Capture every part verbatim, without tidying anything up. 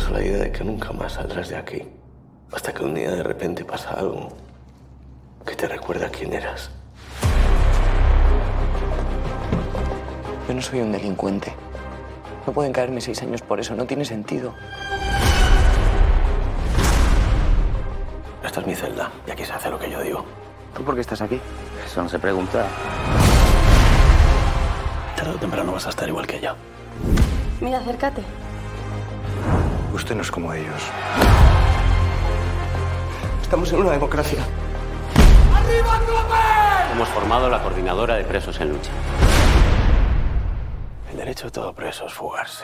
a la idea de que nunca más saldrás de aquí. Hasta que un día de repente pasa algo que te recuerda quién eras. Yo no soy un delincuente. No pueden caerme seis años por eso, no tiene sentido. Esta es mi celda y aquí se hace lo que yo digo. ¿Tú por qué estás aquí? Eso no se pregunta. Tarde o temprano vas a estar igual que yo. Mira, acércate. Usted no es como ellos. Estamos en una democracia. Hemos formado la coordinadora de presos en lucha. El derecho de todo preso es fugarse.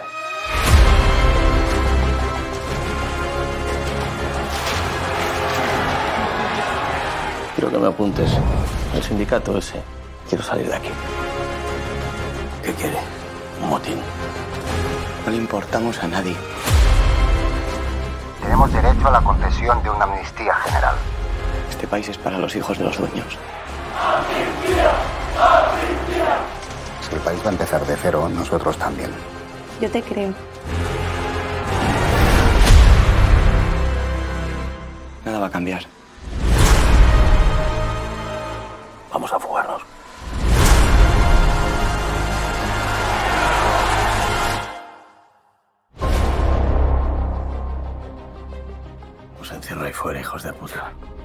Quiero que me apuntes al sindicato ese. Quiero salir de aquí. ¿Qué quiere? Un motín. No le importamos a nadie. Tenemos derecho a la concesión de una amnistía general. Este país es para los hijos de los dueños. Si el país va a empezar de cero, nosotros también. Yo te creo. Nada va a cambiar. Vamos a fugarnos. Os encierro ahí fuera, hijos de puta.